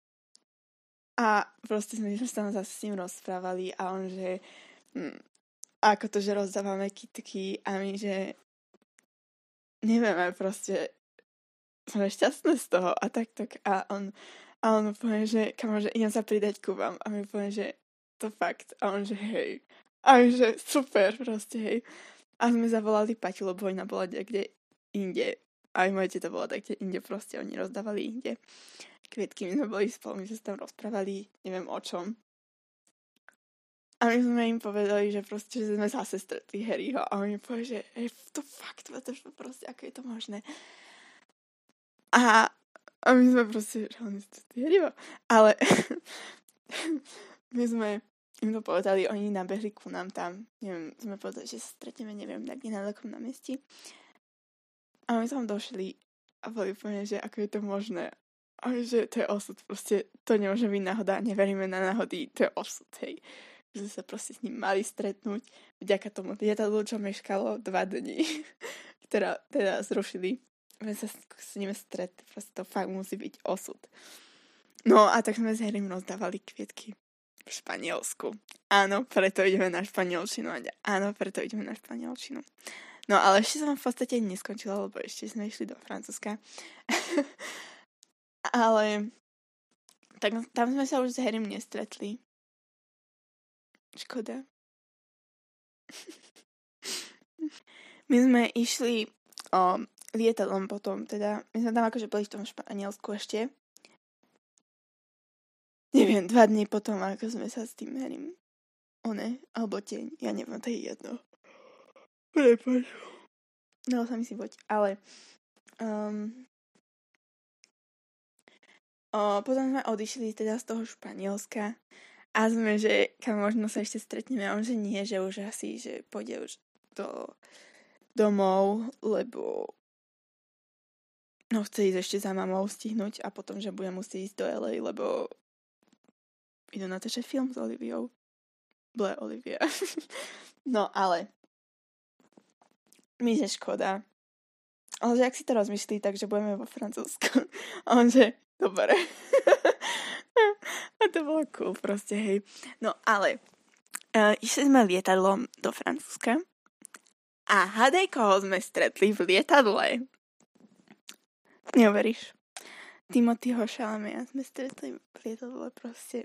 A: A proste sme sa zase s ním rozprávali a on, že hm, ako to, že rozdávame kitky a my, že nevieme, proste sme šťastné z toho a tak, tak. A on, a on povie, že kamo, že idem sa pridať ku vám. A my povie, že to fakt. A on, že hej. A my, že super, proste, hej. A sme zavolali Paťu, lebo ona bola niekde inde. Aj moje teta bola tak, kde inde proste, oni rozdávali inde kvietky, my sme boli spolu, my sme sa tam rozprávali, neviem o čom. A my sme im povedali, že proste, že sme zase stretli Harryho a oni povedali, že hej, to fakt, to proste, ako je to možné. A, a my sme proste, že oni stretli Harryho. Ale my sme im to povedali, oni nabehli ku nám tam, neviem, sme povedali, že sa stretneme, neviem, tak nenálekom na mieste. A my tam došli a boli úplne, že ako je to možné. A že to je osud, proste to nemôže byť náhoda, neveríme na náhody, to je osud, hej. Že sa proste s ním mali stretnúť, vďaka tomu lietadlu, čo meškalo dva dni, ktorá teda zrušili, sme sa s ním stretli, proste to fakt musí byť osud. No a tak sme s Harrym rozdávali kvietky v Španielsku. Áno, preto ideme na španielčinu. Áno, preto ideme na španielčinu. No ale ešte som v podstate neskončila, lebo ešte sme išli do Francúzska. Ale tak tam sme sa už s Harrym nestretli. Škoda. My sme išli o, lietadlom potom, teda my sme tam akože boli v tom Španielsku ešte. Neviem, dva dní potom, ako sme sa s tým Harrym one, alebo teň, ja neviem, to je jedno. Prepač. Dalo sa mi si boť, ale um, O, potom sme odišli teda z toho Španielska a sme, že kam možno sa ešte stretneme. A on, že nie, že už asi, že pôjde už do domov, lebo no chce ísť ešte za mamou stihnúť a potom, že bude musieť ísť do el ej, lebo idú natáčať film s Oliviou. Ble, Olivia. No, ale mi je škoda. Ale že ak si to rozmyslí, takže budeme vo Francúzsku. A on, že dobre. A to bolo cool proste, hej. No ale uh, išli sme lietadlom do Francúzska a hádaj, koho sme stretli v lietadle. Neuveríš. Timothyho Chalamet sme stretli v lietadle proste.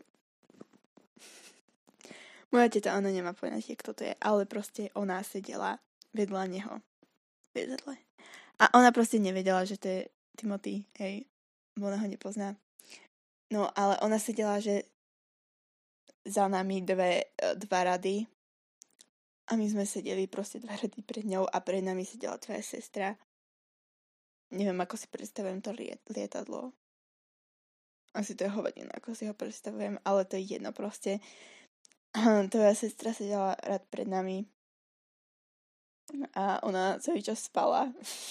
A: Moja teta, ona nemá poňatie, kto to je, ale proste ona sedela vedľa neho v lietadle. A ona proste nevedela, že to je Timothy, hej. Ona ho nepozná. No, ale ona sedela, že za nami dve, dva rady a my sme sedeli proste dva rady pred ňou a pred nami sedela tvoja sestra. Neviem, ako si predstavujem to liet- lietadlo. Asi to je hovadina, ako si ho predstavujem, ale to je jedno proste. Tvoja sestra sedela rad pred nami a ona celý čas spala.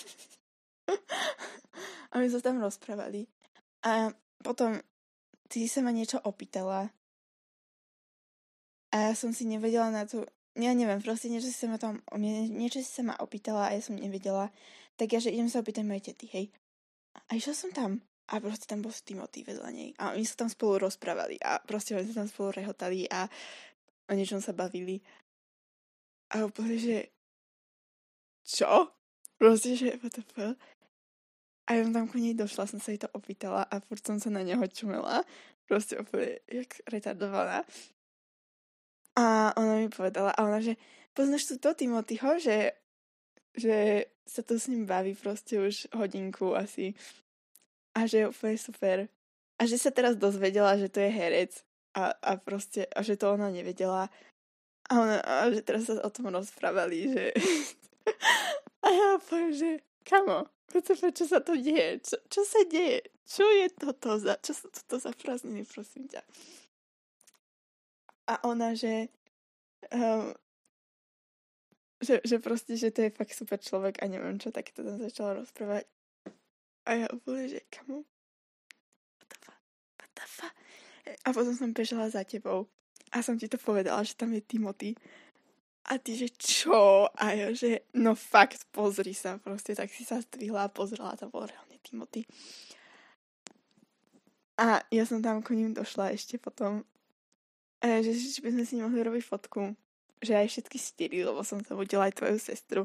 A: A my sa tam rozprávali. A potom ty sa ma niečo opýtala a ja som si nevedela na to, ja neviem, proste niečo si sa ma tam, niečo si sa ma opýtala a ja som nevedela, tak ja, že idem sa opýtať mojej tety, hej. A išla som tam a proste tam bol Timothy vedľa nej a my sa tam spolu rozprávali a proste oni sa tam spolu rehotali a o niečom sa bavili. A úplne, že čo? Proste, že what the fuck? A ja som tam ku nej došla, som sa jej to opýtala a furt som sa na neho čumela. Proste úplne, jak retardovaná. A ona mi povedala, a ona, že poznáš tu to Timothyho, že, že sa tu s ním baví proste už hodinku asi. A že je úplne super. A že sa teraz dozvedela, že to je herec. A, a proste, a že to ona nevedela. A, ona, a že teraz sa o tom rozprávali, že... A ja poviem, že kamo, čo sa to deje? Čo, čo sa deje? Čo je toto za... Čo sú toto za prázdniny, prosím ťa? A ona, že... Um, že, že proste, že to je fakt super človek a neviem čo, tak to tam začala rozprávať. A ja úplne, že kamo? the fuck? A potom som bežala za tebou a som ti to povedala, že tam je Timothy. A ty, že čo? A ja, že no fakt, pozri sa proste. Tak si sa zdvihla a pozrela, tam bol reálne Timothy. A ja som tam ku ním došla ešte potom. A ja, že či by sme si nemohli robiť fotku. Že aj všetky štyri, lebo som sa vodila aj tvoju sestru.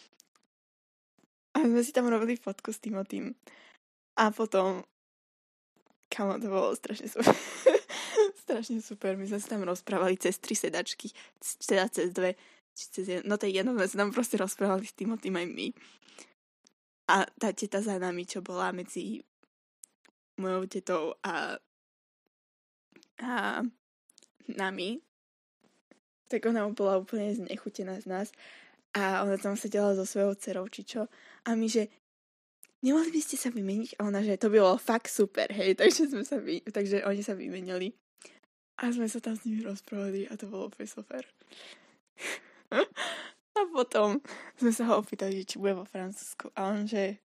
A: A sme si tam robili fotku s Timothym. A potom, kamo, to bolo strašne super. Strašne super. My sme sa tam rozprávali cez tri sedačky. Teda cez dve. Cez jedno. No to je jedno, sme sa tam proste rozprávali s Timothym aj my. A tá teta za nami, čo bola medzi mojou tetou a, a nami, tak ona bola úplne znechutená z nás. A ona tam sedela so svojou dcerou, či čo. A my, že nemohli by ste sa vymeniť? A ona, že to bylo fakt super, hej. Takže, sme sa vy... Takže oni sa vymenili. A sme sa tam s nimi rozprávali a to bolo úplne super. A potom sme sa ho opýtali, či bude vo Francúzsku. A on, že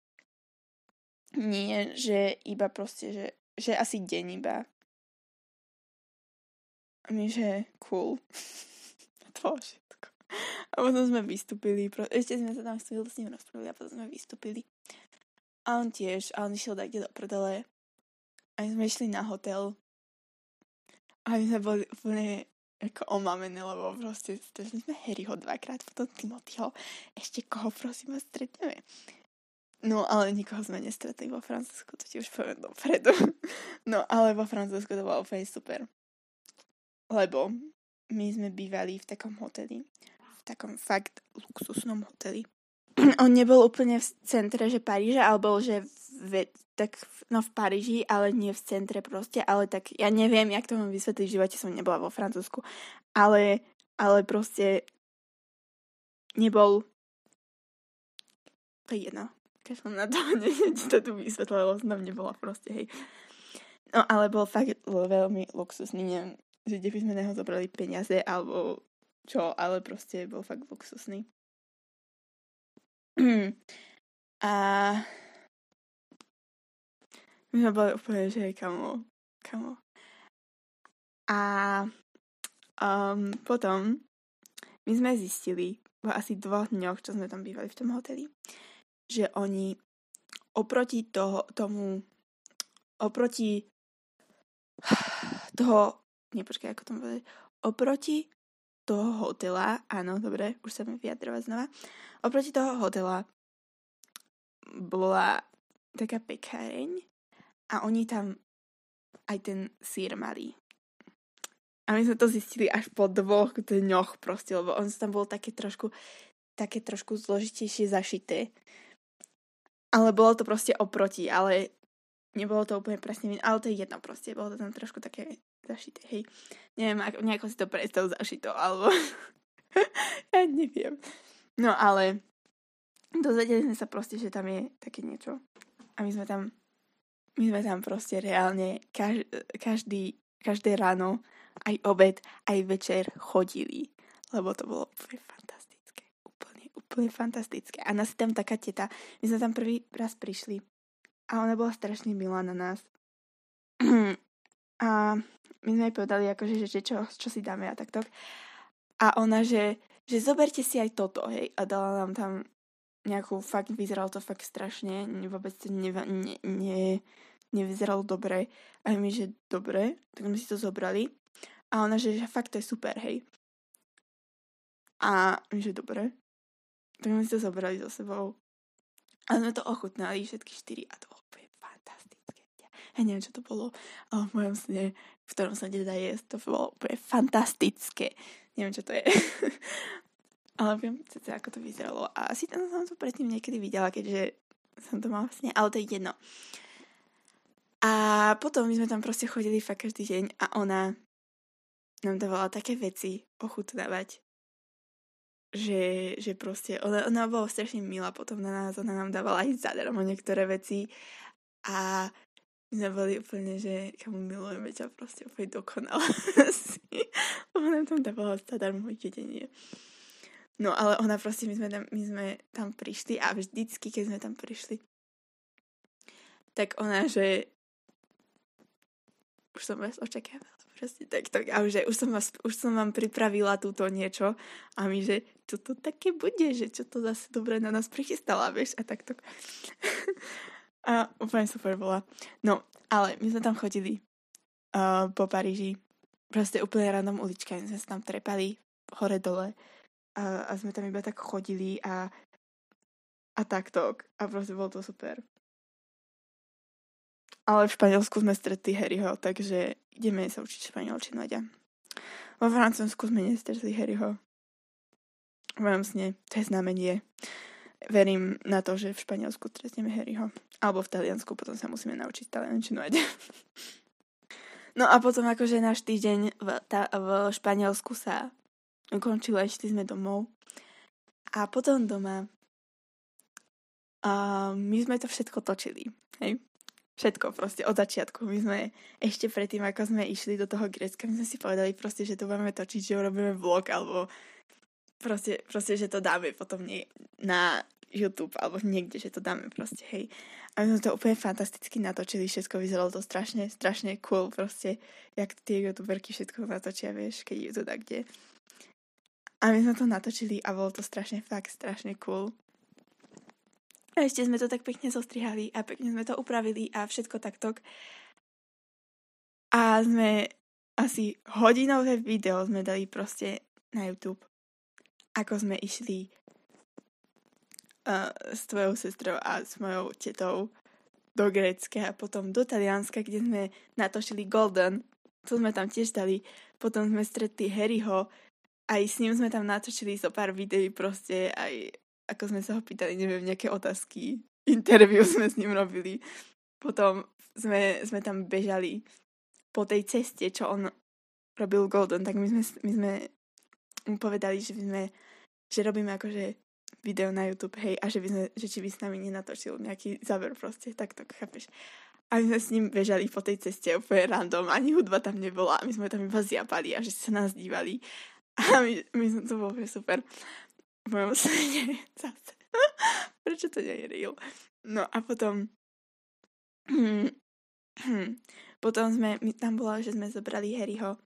A: nie, že iba proste, že, že asi deň iba. A my, že cool. A to bolo všetko. A potom sme vystúpili. Ešte sme sa tam chvíľu s ním rozprávali a potom sme vystúpili. A on tiež. A on išiel tak do prdele. A my sme išli na hotel. A my sme boli úplne ako omamené, lebo proste stretli sme Harryho dvakrát, potom Timothyho. Ešte koho, prosím vás, stretneme? No, ale nikoho sme nestretli vo Francúzsku, to ti už poviem dopredu. No, ale vo Francúzsku to bolo úplne super. Lebo my sme bývali v takom hoteli. V takom fakt luxusnom hoteli. On nebol úplne v centre, že Paríža, ale bol, že v, tak, no v Paríži, ale nie v centre proste, ale tak, ja neviem, jak to mám vysvetliť, v živote som nebola vo Francúzsku, ale, ale proste nebol, to je jedno, keď som na to, neviem, či to tu vysvetlila, lebo som tam nebola proste, hej. No, ale bol fakt veľmi luxusný, neviem, že kde by sme neho zobrali peniaze, alebo čo, ale proste bol fakt luxusný. A my sme boli úplne, že kamo, kamo. A um, potom my sme zistili po asi dvoch dňoch, čo sme tam bývali v tom hoteli, že oni oproti toho, tomu oproti toho, nepočkaj, ako to povedať, oproti toho hotela, áno, dobre, už sa mi vyjadrovať znova, oproti toho hotela bola taká pekáreň a oni tam aj ten sír mali. A my sme to zistili až po dvoch dňoch proste, lebo on tam bol také trošku také trošku zložitejšie zašité. Ale bolo to proste oproti, ale nebolo to úplne presne, ale to je jedno proste, bolo to tam trošku také zašité, hej. Neviem, ako, nejako si to predstav zašito, alebo ja neviem. No ale dozvedeli sme sa proste, že tam je také niečo. A my sme tam my sme tam proste reálne kaž, každý, každé ráno, aj obed, aj večer chodili. Lebo to bolo úplne fantastické. Úplne, úplne fantastické. A nás tam taká teta, my sme tam prvý raz prišli a ona bola strašne milá na nás. A my sme jej povedali, akože, že, že čo, čo si dáme a takto. A ona, že, že zoberte si aj toto, hej. A dala nám tam nejakú, fakt, vyzeralo to fakt strašne, vôbec to ne, ne, ne, nevyzeralo dobre. A my, že dobre, tak sme si to zobrali. A ona, že, že fakt to je super, hej. A my, že dobre. Tak sme si to zobrali so sebou. A sme to ochutnali všetky štyri a to bolo úplne fantastické. Ja neviem, čo to bolo, ale v mojom sne, v ktorom sa nedá jesť, to bolo úplne fantastické. Neviem, čo to je. Ale viem cca, ako to vyzeralo. A asi tam som to predtým niekedy videla, keďže som to mala vlastne, ale to je jedno. A potom my sme tam proste chodili fakt každý deň a ona nám dávala také veci ochutnávať, že, že proste, ona, ona bola strašne milá potom na nás, ona nám dávala aj zadarmo niektoré veci a my sme boli úplne, že kamu milujeme ťa proste úplne dokonale asi. Ona nám tam dávala zadarmo jedenie. No ale ona proste, my sme tam, my sme tam prišli a vždycky, keď sme tam prišli, tak ona, že už som vás očakávala. Proste takto. A už, že už, som vás, už som vám pripravila túto niečo a my, že čo to také bude, že čo to zase dobre na nás prichystala, vieš, a takto. A úplne super bola. No, ale my sme tam chodili uh, po Paríži. Proste úplne random ulička. My sme sa tam trepali hore dole a, a sme tam iba tak chodili a a takto. A proste bolo to super. Ale v Španielsku sme stretli Harryho, takže ideme sa učiť španielčinu, Aďa. Vo Francúzsku sme nestretli Harryho. V mojom sne, to je znamenie. Verím na to, že v Španielsku stretneme Harryho. Alebo v Taliansku, potom sa musíme naučiť taliančinu, Aďa. No a potom akože náš týždeň v, ta, v Španielsku sa ukončil, ešte sme domov. A potom doma a my sme to všetko točili, hej? Všetko proste od začiatku. My sme ešte predtým, ako sme išli do toho Grécka, my sme si povedali proste, že to budeme točiť, že urobíme vlog, alebo proste, proste, že to dáme potom nie na YouTube, alebo niekde, že to dáme proste, hej. A my sme to úplne fantasticky natočili, všetko vyzeralo to strašne, strašne cool, proste, jak tie youtuberky všetko natočia, vieš, keď je to tak, kde. A my sme to natočili a bolo to strašne, fakt strašne cool. A ešte sme to tak pekne zostrihali a pekne sme to upravili a všetko takto. A sme asi hodinové video sme dali proste na YouTube. Ako sme išli uh, s tvojou sestrou a s mojou tetou do Grécka a potom do Talianska, kde sme natočili Golden. To sme tam tiež dali. Potom sme stretli Harryho. Aj s ním sme tam natočili zo pár videí proste aj ako sme sa ho pýtali, neviem, nejaké otázky, interview sme s ním robili. Potom sme, sme tam bežali po tej ceste, čo on robil Golden, tak my sme, my sme mu povedali, že, by sme, že robíme akože video na YouTube, hej, a že, by sme, že či by s nami nenatočil nejaký záver proste, tak to chápeš. A my sme s ním bežali po tej ceste úplne random, ani hudba tam nebola, my sme tam iba zjapali a že sa nás dívali. A my, my sme to bolo super. V mojom sne zase. Prečo to nie je real? No a potom potom sme, my, tam bolo, že sme zobrali Harryho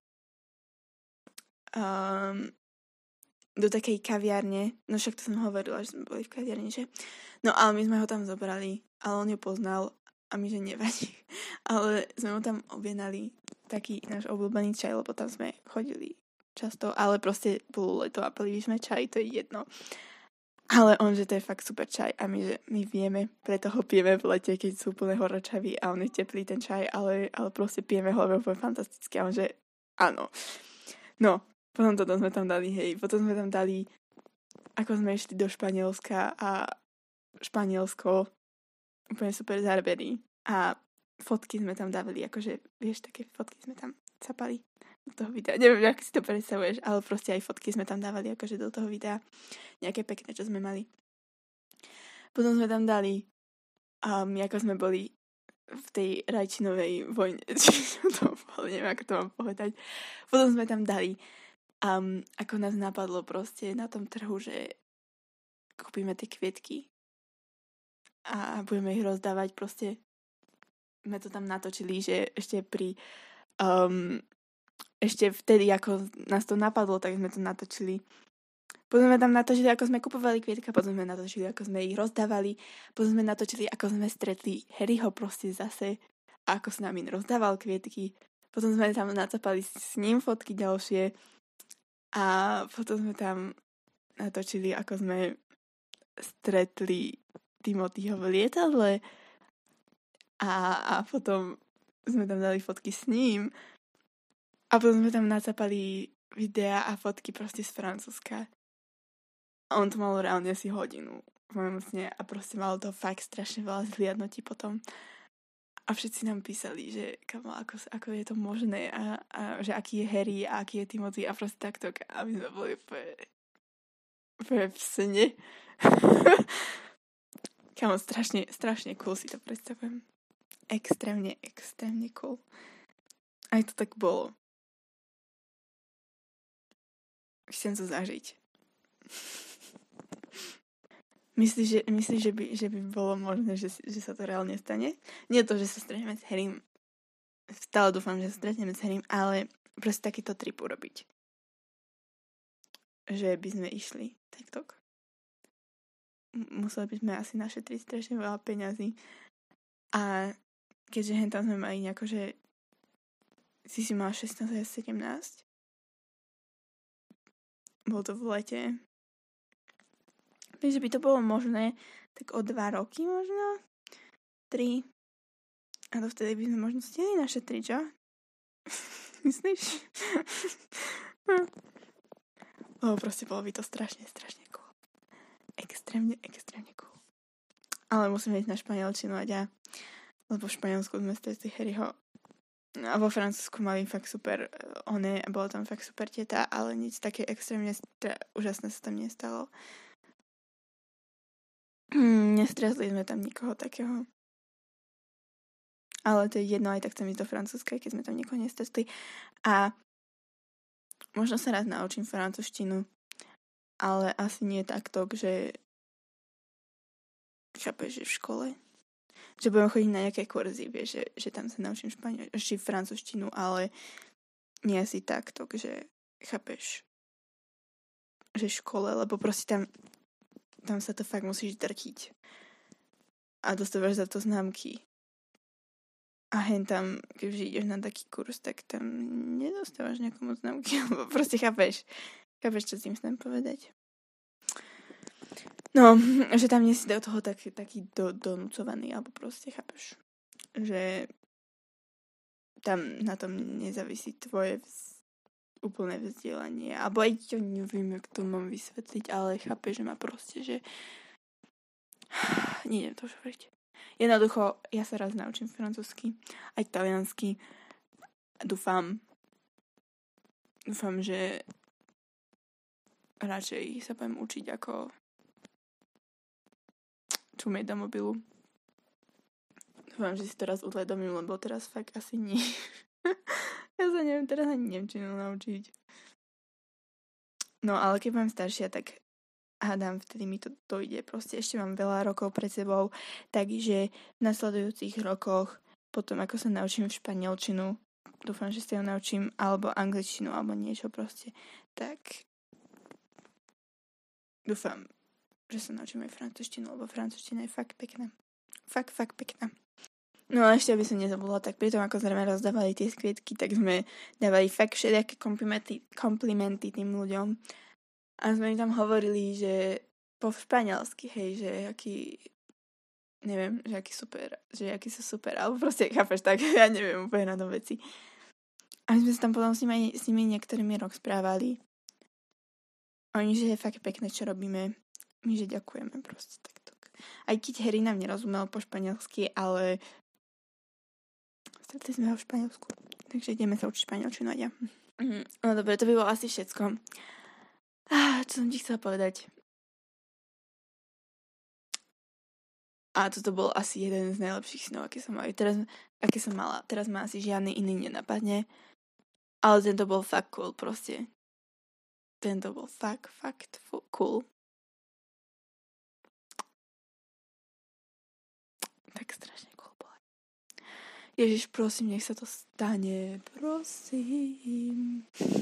A: um, do takej kaviárne. No však to som hovorila, že sme boli v kaviárne, že? No ale my sme ho tam zobrali, ale on ju poznal a my, že nevadí. Ale sme mu tam objednali taký náš obľúbený čaj, lebo tam sme chodili často, ale proste bolo leto a pili sme čaj, to je jedno. Ale on, že to je fakt super čaj a my, že my vieme, preto ho pijeme v lete, keď sú úplne horečaví a on je teplý ten čaj, ale, ale proste pijeme ho, lebo je fantastické a on, že áno. No, potom toto sme tam dali, hej, potom sme tam dali, ako sme išli do Španielska a Španielsko, úplne super zábery a fotky sme tam dávali, akože, vieš, také fotky sme tam capali do toho videa. Neviem, ako si to predstavuješ, ale proste aj fotky sme tam dávali akože do toho videa. Nejaké pekné, čo sme mali. Potom sme tam dali um, ako sme boli v tej rajčinovej vojne. to bolo, neviem, ako to mám povedať. Potom sme tam dali um, ako nás napadlo proste na tom trhu, že kúpime tie kvietky a budeme ich rozdávať proste. Sme to tam natočili, že ešte pri um, ešte vtedy, ako nás to napadlo, tak sme to natočili. Potom sme tam natočili, ako sme kupovali kvietka, potom sme natočili, ako sme ich rozdávali, potom sme natočili, ako sme stretli Harryho proste zase a ako s nami rozdával kvietky. Potom sme tam nacapali s ním fotky ďalšie a potom sme tam natočili, ako sme stretli Timothyho v lietadle a, a potom sme tam dali fotky s ním. A potom sme tam nacapali videa a fotky proste z Francúzska. A on to mal reálne asi hodinu v mojom sne a proste malo to fakt strašne veľa zhliadnutí potom. A všetci nám písali, že kamo, ako, ako je to možné a, a že aký je Harry a aký je Timothy a proste takto. A my sme boli úplne, úplne v sne. Kamo, strašne, strašne cool si to predstavujem. Extrémne, extrémne cool. Aj to tak bolo. Chcem to zažiť. Myslíš, že, myslíš, že, by, že by bolo možné, že, že sa to reálne stane? Nie to, že sa stretneme s Harrym stále dúfam, že sa stretneme s Harrym, ale proste takýto trip urobiť. Že by sme išli. TikTok. Museli by sme asi našetriť strašne veľa peňazí. A keďže hen tam sme mali nejako, že si si mal šestnásť a sedemnásť. Bolo to v lete. Takže by to bolo možné tak o dva roky možno. Tri. A to vtedy by sme možno stihli našetriť, čo? Myslíš? Lebo proste bolo by to strašne, strašne cool. Extrémne, extrémne cool. Ale musíme ísť na španielčinu a ja. Lebo v Španielsku sme stretli Harryho. A vo Francúzsku mali fakt super one, bolo tam fakt super teta, ale nič také extrémne stra- úžasné sa tam nestalo. Nestretli sme tam nikoho takého. Ale to je jedno, aj tak chcem ísť do Francúzska, keď sme tam nikoho nestretli. A možno sa raz naučím francúzštinu, ale asi nie takto, že chápeš, že v škole. Že budem chodiť na nejaké kurzy, vieš, že, že tam sa naučím španiel, či francúzštinu, ale nie asi takto, že chápeš, že v škole, lebo proste tam tam sa to fakt musíš drtiť. A dostávaš za to známky. A hen tam, keď ideš na taký kurz, tak tam nedostávaš nejakomu známky, lebo proste chápeš. Chápeš, čo s tým chcem povedať. No, že tam nie si do toho taký, taký do, donúcovaný, alebo proste chápeš. Že tam na tom nezávisí tvoje vz, úplné vzdelanie. Alebo aj to neviem, jak to mám vysvetliť, ale chápeš, že ma proste, že nejdem to už hovoriť. Jednoducho, ja sa raz naučím francúzsky, aj taliansky. Dúfam, dúfam, že radšej sa budem učiť ako čumieť do mobilu. Dúfam, že si to raz uvedomím, lebo teraz fakt asi nie. Ja sa neviem teraz ani nemčinu naučiť. No, ale keď budem staršia, tak hádam, vtedy mi to dojde. Proste ešte mám veľa rokov pred sebou, takže v nasledujúcich rokoch, potom ako sa naučím v španielčinu, dúfam, že sa ju naučím, alebo angličtinu, alebo niečo proste, tak dúfam, že sa naučím aj francúzštinu, lebo francúzština je fakt pekná. Fakt, fakt pekná. No a ešte, aby som nezabudla, tak pri tom, ako sme rozdávali tie skvietky, tak sme dávali fakt všelijaké komplimenty, komplimenty tým ľuďom. A sme im tam hovorili, že po španielsky, hej, že aký, neviem, že aký super, že aký sú super, alebo proste, chápeš, tak, ja neviem úplne na tom veci. A my sme sa tam potom s nimi, s nimi niektorými rok správali. Oni, že je fakt pekné, čo robíme. My, že ďakujeme proste takto. Aj keď Harry nám nerozumel po španielsky, ale stretli sme ho v Španielsku. Takže ideme sa učiť španielčinu a ja. Mm, no dobre, to by bolo asi všetko. Ah, čo som ti chcela povedať? A toto bol asi jeden z najlepších snov, aké som mala. Teraz, aké som mala. Teraz ma asi žiadny iný nenapadne. Ale tento bol fakt cool proste. Tento bol fakt, fakt cool. Tak strašne cool bol. Ježiš, prosím, nech sa to stane. Prosím.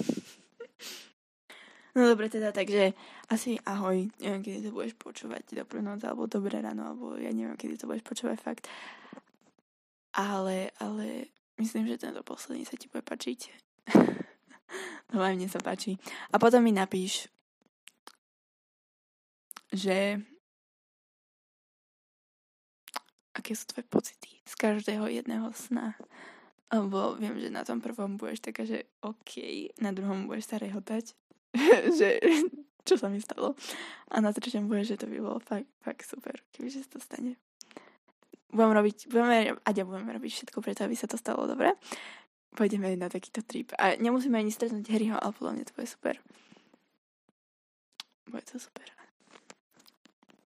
A: No dobre teda, takže asi ahoj. Neviem, kedy to budeš počúvať. Dobrú noc, alebo dobré ráno, alebo ja neviem, kedy to budeš počúvať fakt. Ale, ale myslím, že tento posledný sa ti bude páčiť. No aj mne sa páči. A potom mi napíš, že aké sú tvoje pocity z každého jedného sna. Lebo viem, že na tom prvom budeš taká, že OK, na druhom budeš sa rehotať, že čo sa mi stalo. A na treťom budeš, že to by bolo fakt, fakt super, kebyže sa to stane. Budem robiť, budeme, a ja budeme robiť všetko preto, aby sa to stalo, dobre? Pôjdeme na takýto trip. A nemusíme ani stretnúť Harryho, ale podľa mňa to bude super. Bude to super.